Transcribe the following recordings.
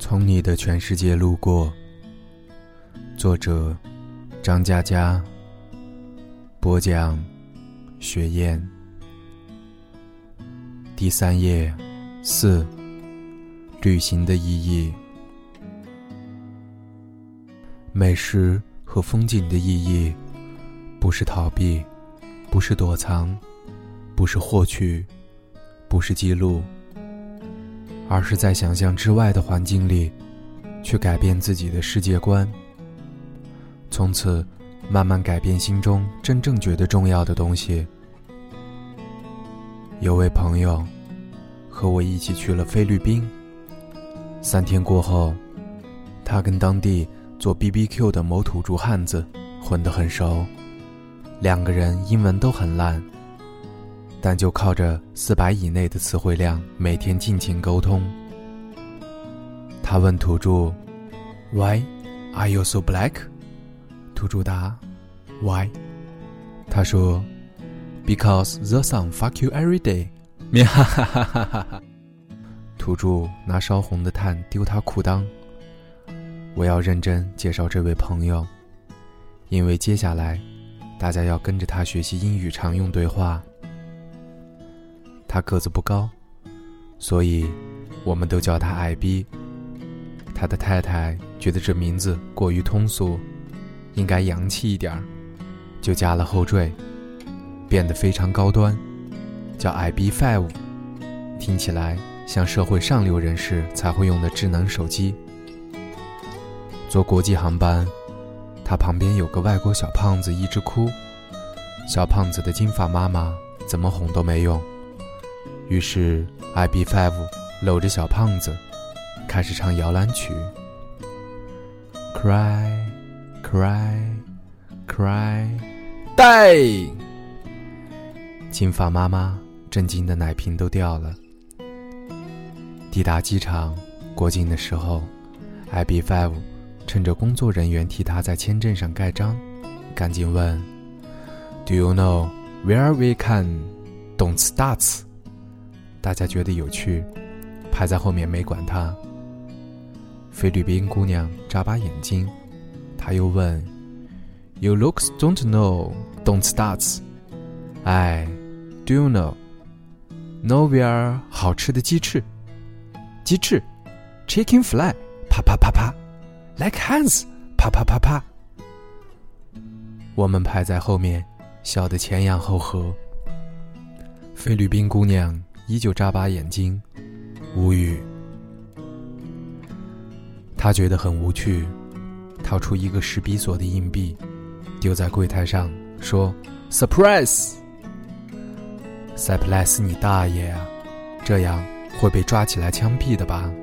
从你的全世界路过，作者张嘉佳，播讲雪雁。第3页4，旅行的意义。美食和风景的意义，不是逃避，不是躲藏，不是获取，不是记录，而是在想象之外的环境里，去改变自己的世界观，从此慢慢改变心中真正觉得重要的东西。有位朋友和我一起去了菲律宾，3天过后，他跟当地做 BBQ 的某土著汉子混得很熟，2个人英文都很烂，但就靠着400以内的词汇量每天尽情沟通。他问土著 Why are you so black？ 土著答 Why？ 他说 Because the sun fuck you every day。 哈哈哈哈哈哈！土著拿烧红的炭丢他裤裆。我要认真介绍这位朋友，因为接下来大家要跟着他学习英语常用对话。他个子不高，所以我们都叫他矮逼。他的太太觉得这名字过于通俗，应该洋气一点，就加了后缀，变得非常高端，叫IB5，听起来像社会上流人士才会用的智能手机。坐国际航班，他旁边有个外国小胖子一直哭，小胖子的金发妈妈怎么哄都没用，于是 IB5 搂着小胖子开始唱摇篮曲 Cry Cry Cry Die。 金发妈妈震惊的奶瓶都掉了。抵达机场过境的时候， IB5 趁着工作人员替他在签证上盖章，赶紧问 Do you know where we can don't start？ 大家觉得有趣，排在后面没管他。菲律宾姑娘眨巴眼睛，他又问 You looks don't know don't start。 哎 Do you know where 好吃的鸡翅 Chicken fly 啪啪啪啪 Like hands 啪啪啪啪。我们排在后面笑得前仰后合。菲律宾姑娘依旧眨巴眼睛，无语。她觉得很无趣，掏出一个10比索的硬币丢在柜台上，说 Surprise。 Surprise 你大爷啊，这样会被抓起来枪毙的吧。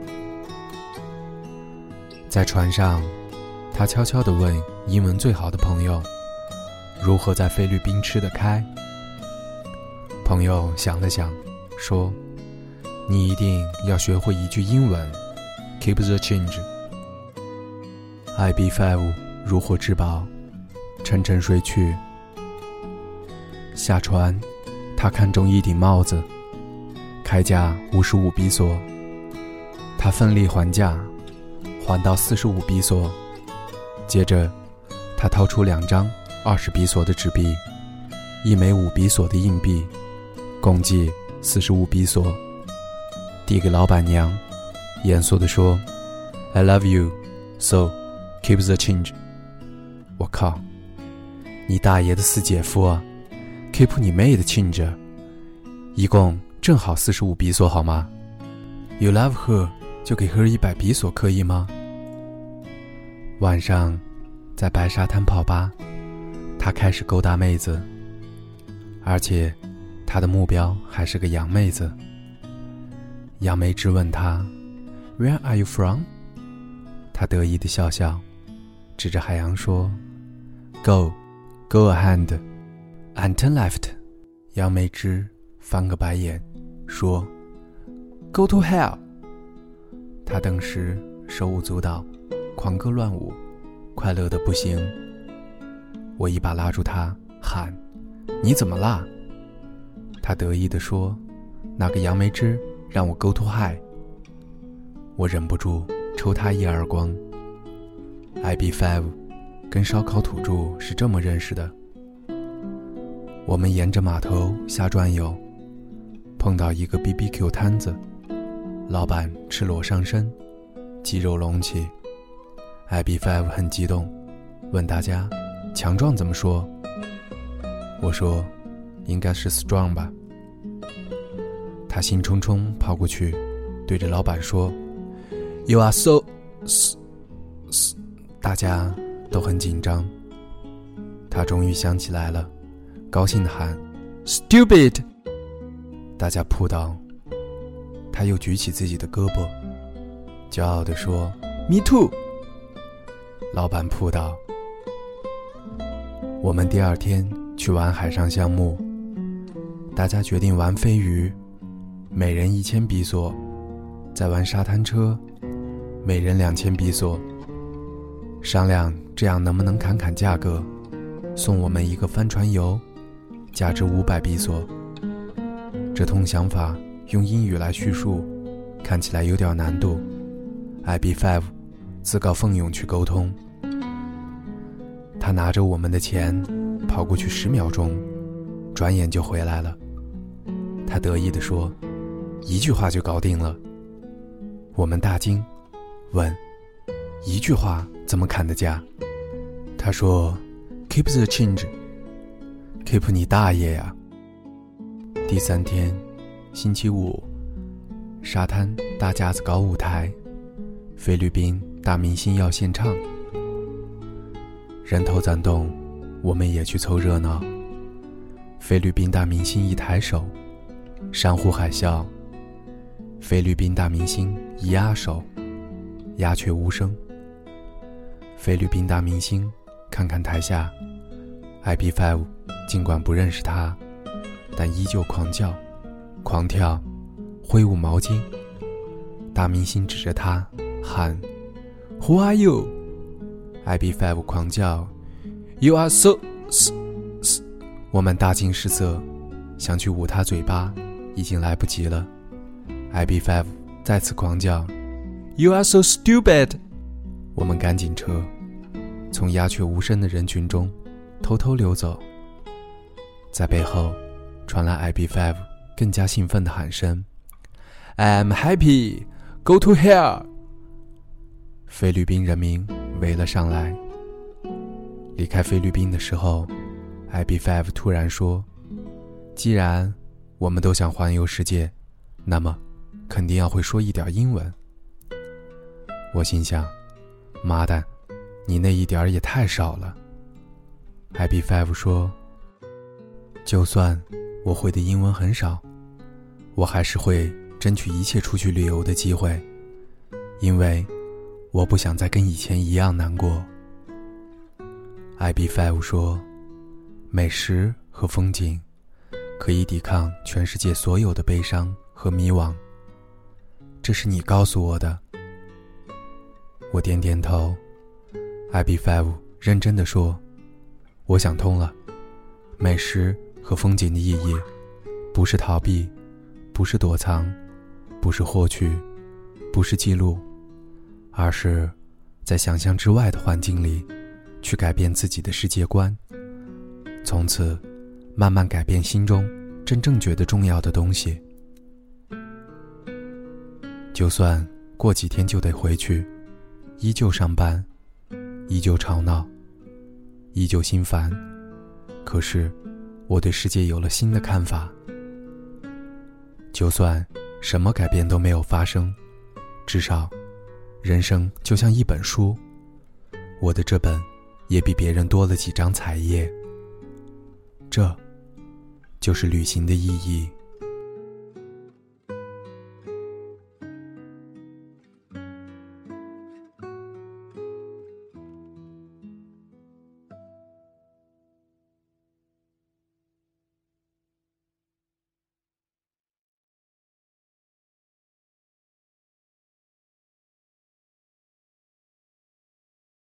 在船上，他悄悄地问英文最好的朋友如何在菲律宾吃得开。朋友想了想说，你一定要学会一句英文 Keep the change。 IB5 如获至宝，沉沉睡去。下船，他看中一顶帽子，开价55比索，他奋力还价，还到45比索。接着他掏出2张20比索的纸币，1枚5比索的硬币，共计45比索，递给老板娘，严肃地说 I love you, so keep the change。 我靠，你大爷的4姐夫啊， keep 你妹的 change， 一共正好45比索好吗？ You love her， 就给 her 100比索可以吗？晚上在白沙滩泡吧，他开始勾搭妹子，而且他的目标还是个洋妹子。杨梅枝问他 Where are you from？ 他得意地笑笑，指着海洋说 Go ahead and turn left。 杨梅枝翻个白眼说 Go to hell。 他当时手舞足蹈，狂歌乱舞，快乐得不行。我一把拉住他，喊你怎么啦？他得意地说那个杨梅枝让我 go to high。我忍不住抽他一耳光。IB5 跟烧烤土著是这么认识的。我们沿着码头瞎转悠，碰到一个 BBQ 摊子，老板赤裸上身，肌肉隆起。IB5 很激动，问大家强壮怎么说？我说应该是 strong 吧。他兴冲冲跑过去，对着老板说 You are so... 大家都很紧张。他终于想起来了，高兴地喊 Stupid！ 大家扑倒。他又举起自己的胳膊，骄傲地说 Me too！ 老板扑倒。我们第二天去玩海上项目，大家决定玩飞鱼，每人1000比索，再玩沙滩车，每人2000比索。商量这样能不能砍价格，送我们一个帆船游，价值500比索。这通想法用英语来叙述，看起来有点难度。IB5 自告奋勇去沟通。他拿着我们的钱跑过去10秒钟，转眼就回来了。他得意地说1句话就搞定了。我们大惊，问1句话怎么砍的价？他说 Keep the change。 Keep 你大爷呀！第3天星期五，沙滩大架子搞舞台，菲律宾大明星要献唱，人头攒动，我们也去凑热闹。菲律宾大明星一抬手，山呼海啸；菲律宾大明星一压手，鸦雀无声。菲律宾大明星看看台下 IB5 尽管不认识他，但依旧狂叫狂跳，挥舞毛巾。大明星指着他喊 Who are you？ IB5 狂叫 You are so... 我们大惊失色，想去捂他嘴巴，已经来不及了。IB5 再次狂叫 You are so stupid！ 我们赶紧撤，从鸦雀无声的人群中偷偷溜走。在背后传来 IB5 更加兴奋的喊声 I'm happy! Go to hell! 菲律宾人民围了上来。离开菲律宾的时候， IB5 突然说，既然我们都想环游世界，那么肯定要会说一点英文。我心想，妈蛋，你那一点也太少了。 IB5 说，就算我会的英文很少，我还是会争取一切出去旅游的机会，因为我不想再跟以前一样难过。 IB5 说，美食和风景可以抵抗全世界所有的悲伤和迷惘，这是你告诉我的。我点点头。 IB5 认真地说，我想通了，美食和风景的意义不是逃避，不是躲藏，不是获取，不是记录，而是在想象之外的环境里去改变自己的世界观，从此慢慢改变心中真正觉得重要的东西。就算过几天就得回去，依旧上班，依旧吵闹，依旧心烦，可是我对世界有了新的看法。就算什么改变都没有发生，至少人生就像一本书，我的这本也比别人多了几张彩页。这就是旅行的意义。